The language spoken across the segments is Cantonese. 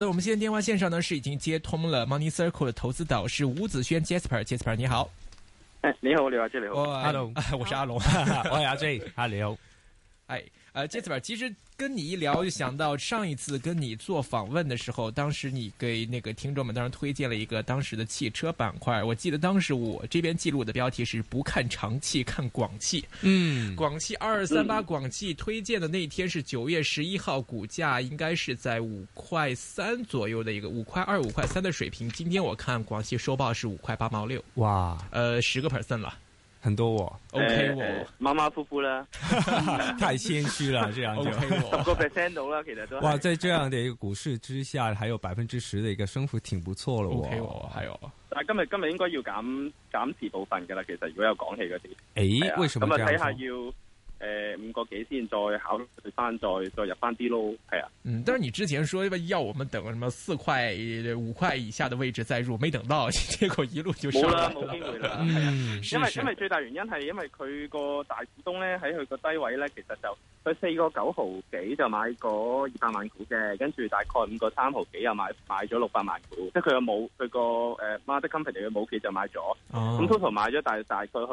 我們現在電話線上呢是已經接通了 Money Circle 的投資導師吳子軒 Jasper 你好。 你好，你好，你好 ，Hello，我是阿龍， 我係阿 J，你好。 Jasper，其實跟你一聊就想到上一次跟你做訪問的時候，當時你給那個聽眾們當時推薦了一個當時的汽車板塊，我記得當時我這邊記錄的標題是不看長汽看廣汽。廣汽2238廣汽推薦的那天是9月11號，股價應該是在5塊3左右的一個5塊2、5塊3的水平。今天我看廣汽收報是5塊8毛6， 哇 ，10%了。 很多 ，OK， 馬馬虎虎啦， 太謙虛了，這樣就 10%到啦，其實都哇，在這樣的一個股市之下，還有10%的一個升幅，挺不錯咯。 OK，還有， 但係今日應該要減持部分噶啦，其實如果有講起嗰啲， 為什麼這樣？ 咁啊睇下要5個幾先再考慮翻，再入翻啲咯，係啊。 但是你之前說要我們等什麼4塊5塊以下的位置再入，沒等到，結果一路就上來了。 冇機會啦，因為最大原因係因為佢個大股東咧喺佢個低位咧，其實就佢4個9毫幾就買嗰200萬股嘅，跟住大概5個3毫幾又買咗600萬股，即係佢個mother company 嘅母企就買咗，咁 total 買咗大概去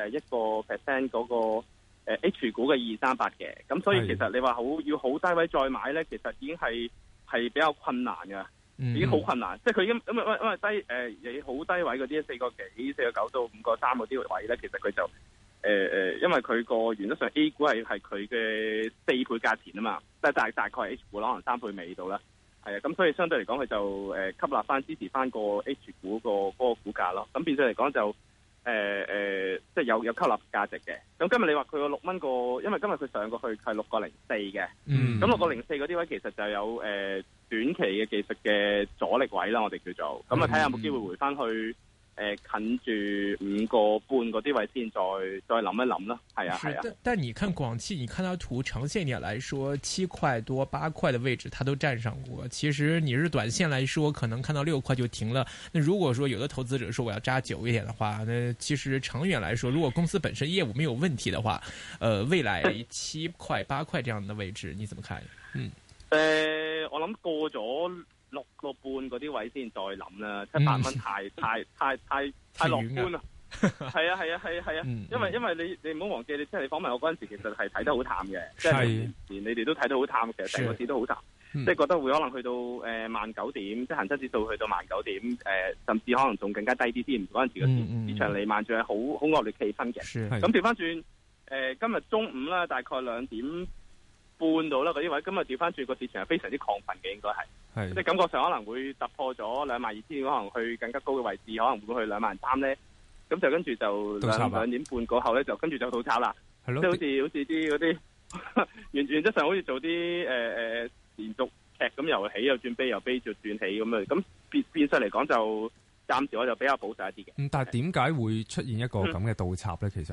1% 嗰個。H 股嘅2238嘅，咁所以其實你話要好低位再買咧，其實已經係比較困難嘅，已經好困難。即係佢已經因為低你好低位嗰啲4個幾、4個9到5個3嗰啲位咧，其實佢就因為佢個原則上 A 股係佢嘅4倍價錢啊嘛，即係大概 H 股可能3倍尾到啦，係啊，咁所以相對嚟講佢就吸納翻支持翻個 H 股嗰個股價咯，咁變相嚟講就。即係有吸納價值嘅。咁今日你話佢個6蚊個，因為今日佢上過去係6個04嘅。咁6個04嗰啲位其實就有短期嘅技術嘅阻力位啦，我哋叫做。咁啊睇下有冇機會回翻去近住5個半嗰啲位先，再諗一諗啦。係啊。 但你看廣汽，你看它圖長線點來說，7塊多8塊的位置它都站上過。其實你是短線來說，可能看到6塊就停了。那如果說有的投資者說我要揸久一點的話，那其實長遠來說，如果公司本身業務沒有問題的話，未來7塊8塊這樣的位置，你怎麼看？ 我諗過咗6個半嗰啲位先再諗啦，7、8蚊太樂觀啦。係啊，因為你唔好忘記，即係你訪問我嗰陣時，其實係睇得好淡嘅，即係連你哋都睇得好淡，其實成個市都好淡，即係覺得會可能去到19,000點，即係恒生指數去到19,000點，甚至可能仲更加低啲添。嗰陣時個市場彌漫住係好惡劣氣氛嘅。咁調翻轉，今日中午啦，大概2點半到啦嗰啲位，今日調翻轉個市場係非常之亢奮嘅，應該係，即係感覺上可能會突破咗22,000，可能去更加高嘅位置，可能會去23,000咧。咁就跟住就2點半過後咧，就跟住就倒炒啦。係咯，即係好似啲嗰啲原則上好似做啲連續劇咁，又起又轉悲，又悲就轉起咁啊。咁變相嚟講就暫時我就比較保守一啲嘅。 但係點解會出現一個咁嘅倒插咧？其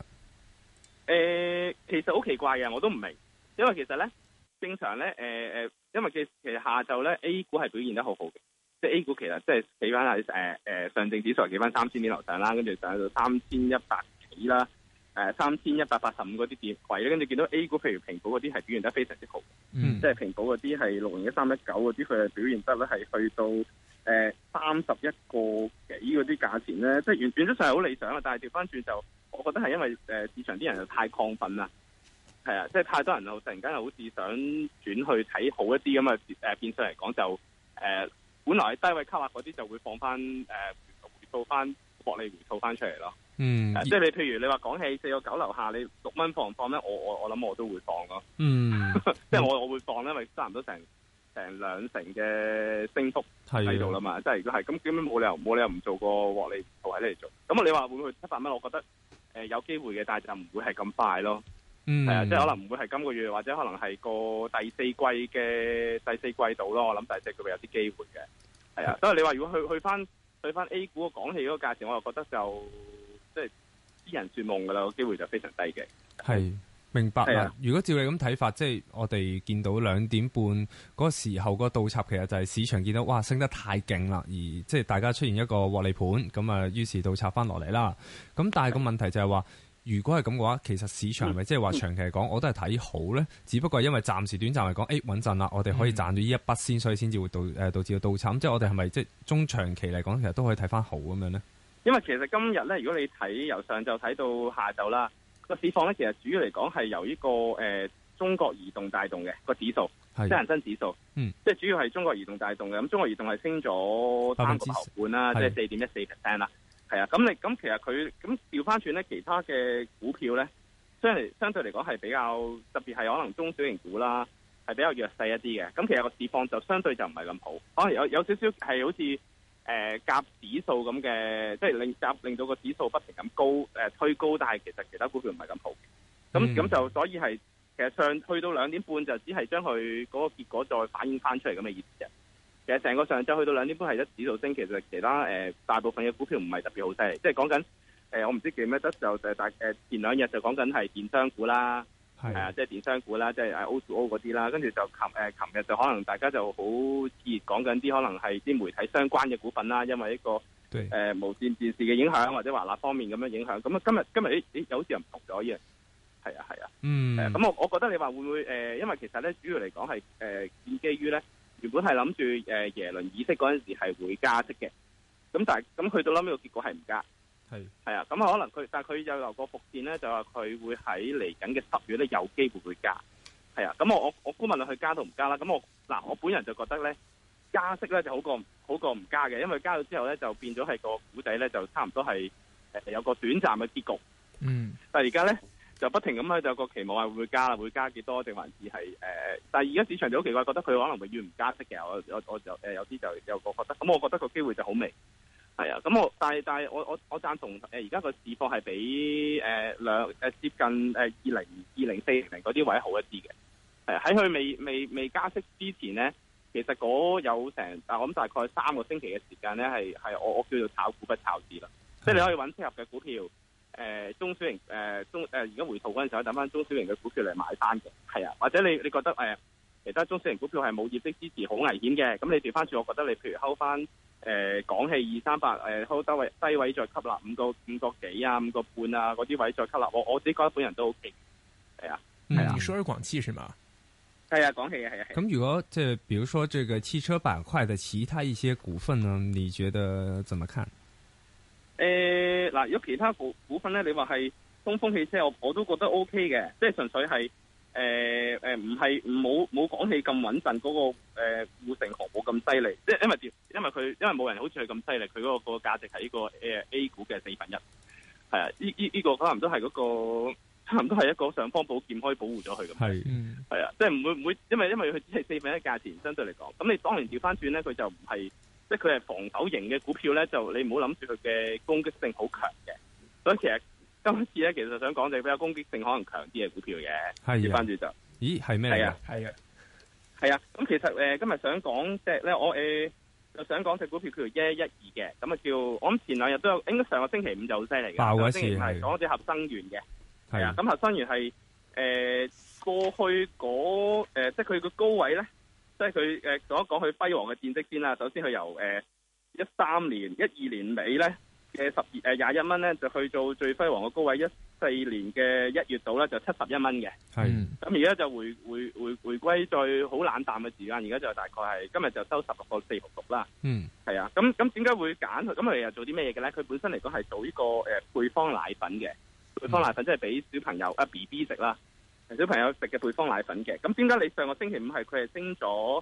實好奇怪嘅，我都唔明。因為其實咧正常咧因為其實下晝咧 A 股係表現得好好嘅。即係 A 股其實即係企翻喺上證指數係企翻3000點樓上啦，跟住上到3100幾啦，3185嗰啲點位咧，跟住見到 A 股譬如平保嗰啲係表現得非常之好，即係平保嗰啲係601319嗰啲佢係表現得咧係去到31個幾嗰啲價錢咧，即係原則上係好理想啊，但係調翻轉就我覺得係因為市場啲人就太亢奮啦，係啊，即係太多人就突然間又好似想轉去睇好一啲咁啊，變相嚟講就本來低位吸納嗰啲就會放翻回吐翻獲利回吐翻出嚟咯。即係你譬如你話講起4個9樓下，你6蚊放唔放咧？我諗我都會放咯。即係我會放咧，因為差唔多成2成嘅升幅喺度啦嘛。即係如果係咁，根本冇理由唔做個獲利回吐喺呢度做。咁你話會唔會去700蚊？我覺得有機會嘅，但係就唔會係咁快咯。係啊，即係可能唔會係今個月，或者可能係個第四季度咯。我諗第四季會有啲機會嘅。係啊，所以你話如果去翻 A 股個廣汽嗰個價錢，我就覺得就即係痴人說夢噶啦，個機會就非常低嘅。係明白啦。如果照你咁睇法，即係我哋見到2點半嗰個時候嗰個倒插，其實就係市場見到哇升得太勁啦，而即係大家出現一個獲利盤，咁啊於是倒插翻落嚟啦。咁但係個問題就係話， 如果係咁嘅話，其實市場係咪即係話長期嚟講，我都係睇好咧？只不過係因為暫時短暫嚟講，穩陣啦，我哋可以賺到呢一筆先，所以先至會導致到倒插。即係我哋係咪即係中長期嚟講，其實都可以睇翻好咁樣咧？ 因為其實今日咧，如果你睇由上晝睇到下晝啦，個市況咧，其實主要嚟講係由呢個中國移動帶動嘅個指數，即係恒生指數，即係主要係中國移動帶動嘅。咁中國移動係升咗3個頭半啦，即係4.14% 啦。係啊，咁其實佢咁調翻轉咧，其他嘅股票咧，相對嚟講係比較特別，係可能中小型股啦，係比較弱勢一啲嘅。咁其實個市況就相對就唔係咁好，可能有少少係好似夾指數咁嘅，即係令到個指數不停咁推高，但係其實其他股票唔係咁好。咁就所以係其實去到2點半就只係將佢嗰個結果再反映翻出嚟咁嘅意思啫。其實成個上晝去到2點半係一指數升，其實其他大部分嘅股票唔係特別好犀利，即係講緊我唔知記唔記得就前2日就講緊係電商股啦，係啊，即係電商股啦，即係O2O 嗰啲啦，跟住就琴日就可能大家就好熱講緊啲可能係啲媒體相關嘅股份啦，因為一個無線電視嘅影響或者華納方面咁樣影響，咁啊今日有好似又唔同咗依樣，係啊，咁我覺得你話會唔會因為其實咧主要嚟講係建基於咧。原本係諗住耶倫議息嗰陣時係會加息嘅，咁但係咁去到諗呢個結果係唔加，係啊，咁可能但係佢又有個伏線咧，就話佢會喺嚟緊嘅10月咧有機會會加，係啊，咁我估問佢加到唔加啦，咁我本人就覺得咧加息咧就好過唔加嘅，因為加咗之後咧就變咗係個股仔咧就差唔多係有個短暫嘅結局，但係而家咧。就不停咁喺度個期望係會唔會加啦，會加幾多定還是係但係而家市場就好奇怪，覺得佢可能永遠唔加息嘅。我就有啲就有個覺得，咁我覺得個機會就好微，係啊。咁但係我贊同而家個市況係比接近2040嗰啲位好一啲嘅。喺佢未加息之前咧，其實嗰有成我諗大概3個星期嘅時間咧係我叫做炒股不炒市啦，即係你可以揾適合嘅股票。中小型而家回吐嗰陣時候，等翻中小型嘅股票嚟買翻嘅，係啊，或者你覺得其他中小型股票係冇業績支持，好危險嘅，咁你調翻轉，我覺得你譬如睺翻港氣238，睺低位再吸納5個幾啊，5個半啊嗰啲位再吸納，我自己覺得本人都 OK， 係啊，係啊。 你說是廣汽是嗎？ 係啊，廣汽嘅係啊。 咁如果即係，比如說這個汽車板塊的其他一些股份呢，你覺得怎麼看？ 嗱，如果其他股份咧，你話係東風汽車，我都覺得 O K 嘅，即係純粹係唔係冇廣汽咁穩陣，嗰個護城河冇咁犀利，即係因為冇人好似佢咁犀利，佢嗰個價值係呢個A 股嘅1/4，係啊，呢個可能都係嗰個差唔多係一個尚方寶劍可以保護咗佢咁，係啊，即係唔會，因為佢只係1/4價錢，相對嚟講，咁你當然調翻轉咧，佢就唔係。即係佢係防守型嘅股票咧，就你唔好諗住佢嘅攻擊性好強嘅。所以其實今次咧，其實想講就比較攻擊性可能強啲嘅股票嘅。調翻轉就， 咦係咩？係啊。 咁其實今日想講隻咧，我就想講隻股票叫做1112嘅，咁啊叫我諗前2日都有，應該上個星期5就好犀利嘅。爆嗰次係講隻合生元嘅，係啊。咁合生元係過去即係佢個高位咧。即係佢講一講佢輝煌嘅戰績先啦。首先佢由12年尾咧嘅21蚊咧，就去到最輝煌嘅高位14年嘅1月度咧就71蚊嘅。咁而家就回歸最好冷淡嘅時間，而家就大概係今日就收16個466啦。係啊。咁點解會揀佢？咁佢又做啲咩嘢嘅咧？佢本身嚟講係做呢個配方奶粉嘅。配方奶粉即係俾小朋友BB 食啦。小朋友食嘅配方奶粉嘅，咁點解你上個星期5係佢係升咗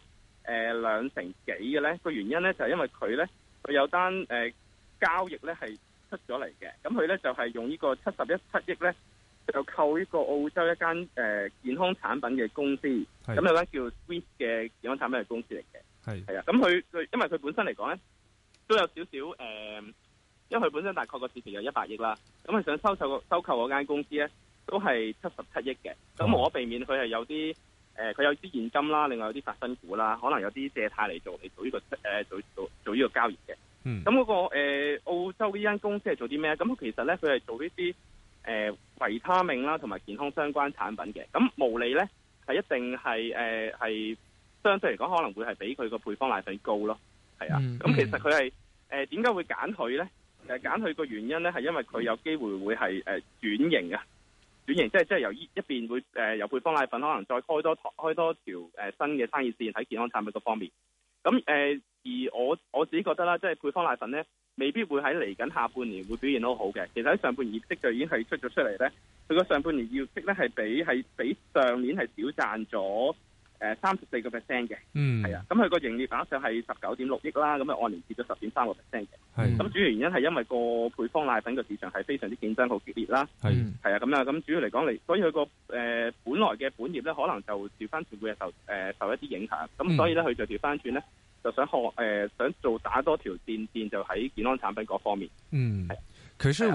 2成幾嘅咧？個原因咧就係因為佢有單交易咧係出咗嚟嘅，咁佢咧就係用呢個71.7億咧就購呢個澳洲一間健康產品嘅公司，咁有間叫 Swiss 嘅健康產品嘅公司嚟嘅，係啊，咁佢因為佢本身嚟講咧都有少少因為佢本身大概個市值有100億啦，咁佢想收購嗰間公司咧。都係77億嘅，咁無可避免佢係有啲佢有啲現金啦，另外有啲發生股啦，可能有啲借貸嚟做呢個做呢個交易嘅。咁嗰個澳洲呢間公司係做啲咩？咁其實咧佢係做呢啲維他命啦同埋健康相關產品嘅。咁毛利咧係一定係相對嚟講可能會係比佢個配方奶粉高咯。係啊。咁其實佢係點解會揀佢咧？ 揀佢個原因咧，係因為佢有機會會係轉型啊，轉型即係由一邊會由配方奶粉可能再開多條新嘅生意線喺健康產品嗰方面。咁而我自己覺得啦，即係配方奶粉咧，未必會喺嚟緊下半年會表現得好嘅。其實喺上半年業績就已經係出咗出嚟咧，佢個上半年業績咧係比上年係少賺咗34%嘅。係啊，咁佢個營業額上係19.6億啦，咁啊按年跌咗10.3%嘅。咁主要原因係因為個配方奶粉個市場係非常之競爭好激烈啦。係啊，咁主要嚟講所以佢個本來嘅本業咧，可能就調翻轉會受一啲影響。咁所以咧，佢就調翻轉咧。就想想做打多條線就喺健康產品嗰方面。 可是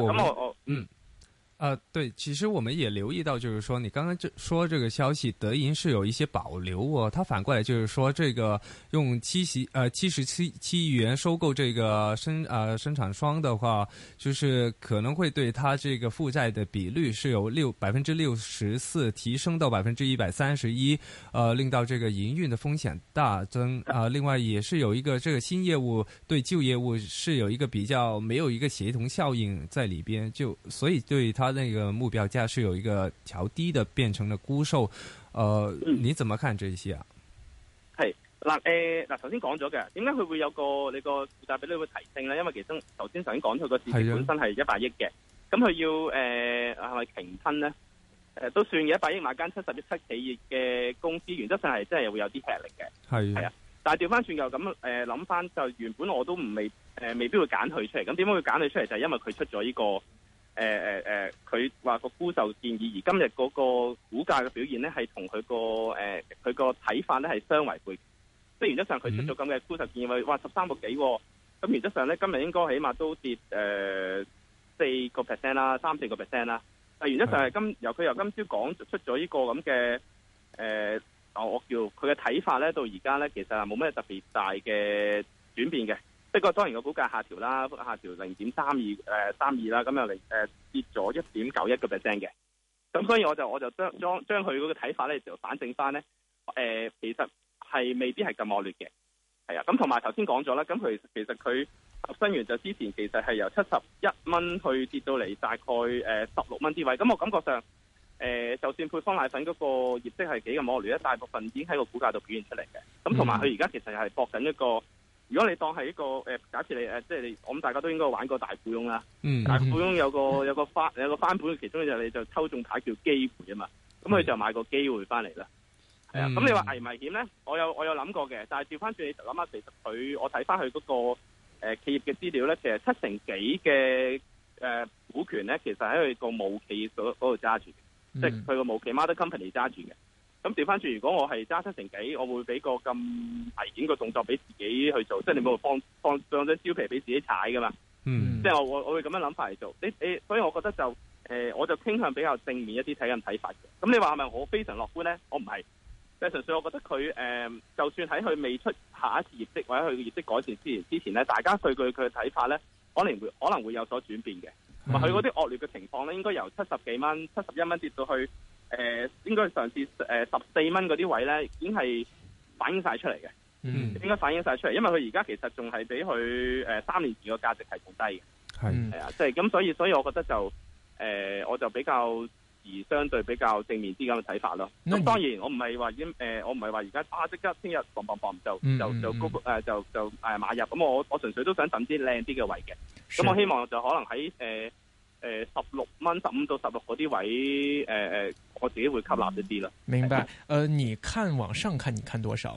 對，其實我們也留意到，就是說你剛剛說這個消息，德銀是有一些保留哦。他反過來就是說，這個用77億元收購這個生產商的話，就是可能會對他這個負債的比率是由64%提升到131%，令到這個營運的風險大增。另外也是有一個這個新業務對舊業務是有一個比較沒有一個協同效應在裏邊，就所以對他那個目標價是有一個調低的，變成了沽售。你怎麼看這些啊？ 係嗱，頭先講咗嘅，點解佢會有你個負債比率會提升咧？因為其實頭先講佢個市值本身係100億嘅，咁佢要係咪平吞咧？都算嘅，100億買間70億企業嘅公司，原則上係真係會有啲吃力嘅。係啊，但係調翻轉又咁諗翻，就原本我都未必會揀佢出嚟。咁點解會揀佢出嚟？就係因為佢出咗呢個。佢話個沽售建議，而今日嗰個股價嘅表現咧，係同佢個睇法咧係相違背。即係原則上佢出咗咁嘅沽售建議，話13個幾，咁原則上咧今日應該起碼都跌4% 啦，3-4% 啦。但原則上係由今朝講出咗呢個咁嘅我叫佢嘅睇法咧，到而家咧其實係冇咩特別大嘅轉變嘅。不過當然個股價下調啦，下調0.32啦，咁又跌咗1.91%嘅。咁所以我就將佢嗰個睇法咧就反證翻咧，其實係未必係咁惡劣嘅，係啊。咁同埋頭先講咗啦，咁其實佢合生元就之前其實係由71蚊去跌到嚟大概16蚊啲位。咁我感覺上就算配方奶粉嗰個業績係幾咁惡劣咧，大部分已經喺個股價度表現出嚟嘅。咁同埋佢而家其實係搏緊一個。如果你當係一個假設你即係我諗大家都應該玩過大富翁啦。大富翁有個翻本，其中就你就抽中牌叫機會啊嘛。咁佢就買個機會翻嚟啦。係啊。咁你話危唔危險咧？我有諗過嘅，但係調翻轉你諗下，其實我睇翻佢嗰個企業嘅資料咧，其實7成幾嘅股權咧，其實喺佢個母企嗰度揸住嘅，即係佢個母企 mother company 揸住嘅。咁調翻轉，如果我係揸7成幾，我會俾個咁危險嘅動作俾自己去做，即係你冇放張蕉皮俾自己踩噶嘛。即係我會咁樣諗法嚟做。所以我覺得就我就傾向比較正面一啲睇法嘅。咁你話係咪我非常樂觀咧？我唔係，即係純粹我覺得佢就算喺佢未出下一次業績或者佢嘅業績改善之前咧，大家對佢嘅睇法咧，可能會有所轉變嘅。同埋佢嗰啲惡劣嘅情況咧，應該由70幾蚊、71蚊跌到去。應該上次14蚊嗰啲位咧，已經係反映晒出嚟嘅。應該反映晒出嚟，因為佢而家其實仲係比佢3年前個價值係仲低嘅。係啊，即係咁，所以我覺得就我就比較相對比較正面啲咁嘅睇法咯。咁當然我唔係話已經我唔係話而家即刻聽日砰就高就買入。咁我純粹都想等啲靚啲嘅位嘅。咁我希望就可能喺16蚊15到16嗰啲位我自己會吸納一啲啦。 明白。你看往上看，你看多少？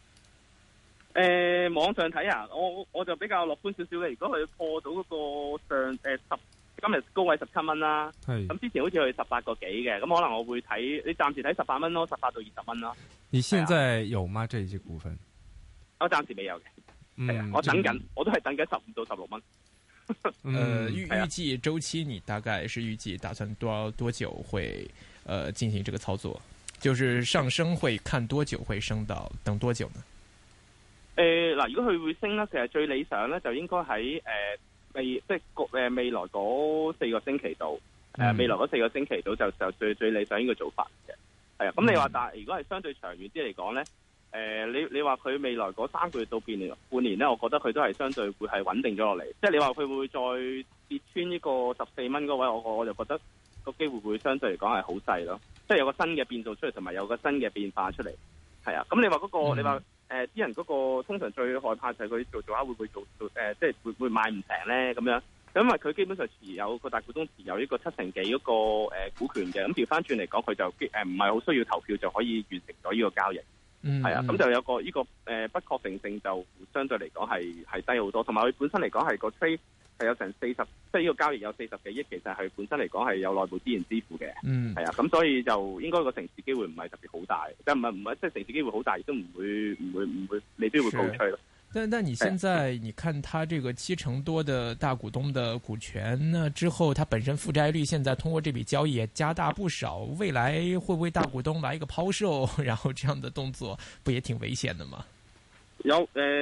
網上睇啊，我就比較樂觀少少嘅。如果佢破到嗰個今日高位17蚊啦，咁之前好似去18個幾嘅，咁可能我會睇，你暫時睇18蚊咯，18到20蚊咯。 你現在有嗎？這些股份？ 我暫時未有嘅，係啊，我等緊，我都係等緊15到16蚊。 預計周期你大概是預計打算多久會進行這個操作？就是上升會看多久會升到等多久呢？ 嗱，如果佢會升咧，其實最理想咧就應該喺未來嗰4個星期度，未來嗰4個星期度就最理想呢個做法嘅。係啊，咁你話但係如果係相對長遠啲嚟講咧， 你話佢未來嗰3個月到半年咧，我覺得佢都係相對會係穩定咗落嚟。即係你話佢會唔會再跌穿呢個14蚊嗰位，我就覺得個機會會相對嚟講係好細咯。即係有個新嘅變數出嚟，同埋有個新嘅變化出嚟。係啊，咁你話嗰個，你話啲人嗰個通常最害怕就係佢做下會唔會做即係會賣唔成咧咁樣。因為佢基本上持有個大股東持有呢個7成幾嗰個股權嘅，咁調翻轉嚟講，佢就唔係好需要投票就可以完成咗呢個交易。係啊，咁就有個呢個不確定性就相對嚟講係低好多，同埋佢本身嚟講係個 trade 係有成40，即係呢個交易有40幾億，其實係本身嚟講係有內部資源支付嘅。係啊，咁所以就應該個成事機會唔係特別好大，即係唔係即係成事機會好大，亦都唔會未必會告吹咯。 但你現在你看他這個7成多的大股東的股權呢，之後他本身負債率現在通過這筆交易也加大不少，未來會不會大股東來一個拋售，然後這樣的動作不也挺危險的嗎？ 有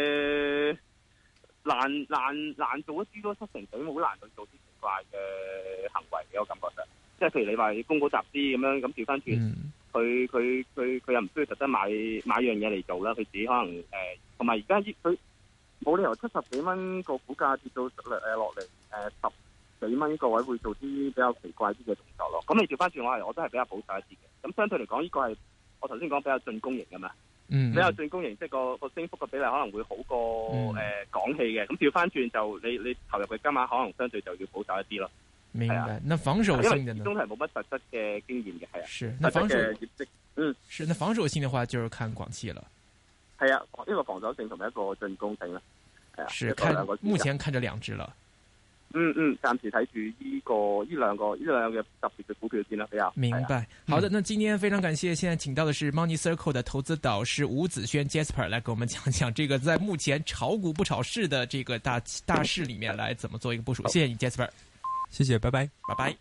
難做一啲多7成幾，好難去做啲奇怪嘅行為嘅，我感覺上，即係譬如你話你公股集資咁樣，咁調翻轉，佢又唔需要特登買樣嘢嚟做啦，佢自己可能同埋而家佢冇理由70幾蚊個股價跌到落嚟10幾蚊個位會做啲比較奇怪啲嘅動作咯。咁你調翻轉我都係比較保守一啲嘅。咁相對嚟講，呢個係我頭先講比較進攻型嘅嘛。比較進攻型，即係個升幅嘅比例可能會好過港氣嘅。咁調翻轉就你投入嘅金額可能相對就要保守一啲咯。 明白。那防守性的呢？ 因為始終係冇乜實質嘅經驗嘅，係啊。 是，那防守嘅業績， 是，那防守性的話就是看廣汽了。 係啊，呢個防守性同埋一個進攻性啦。係啊， 是目前看着2隻了。暫時睇住呢兩個特別嘅股票先啦，比較明白。好的，那今天非常感謝，現在請到的是 Money Circle 的投資導師吳子軒 Jasper 來給我們講講這個在目前炒股不炒市的這個大勢裏面來怎麼做一個部署。謝謝你 Jasper， 謝謝，拜拜， 拜拜。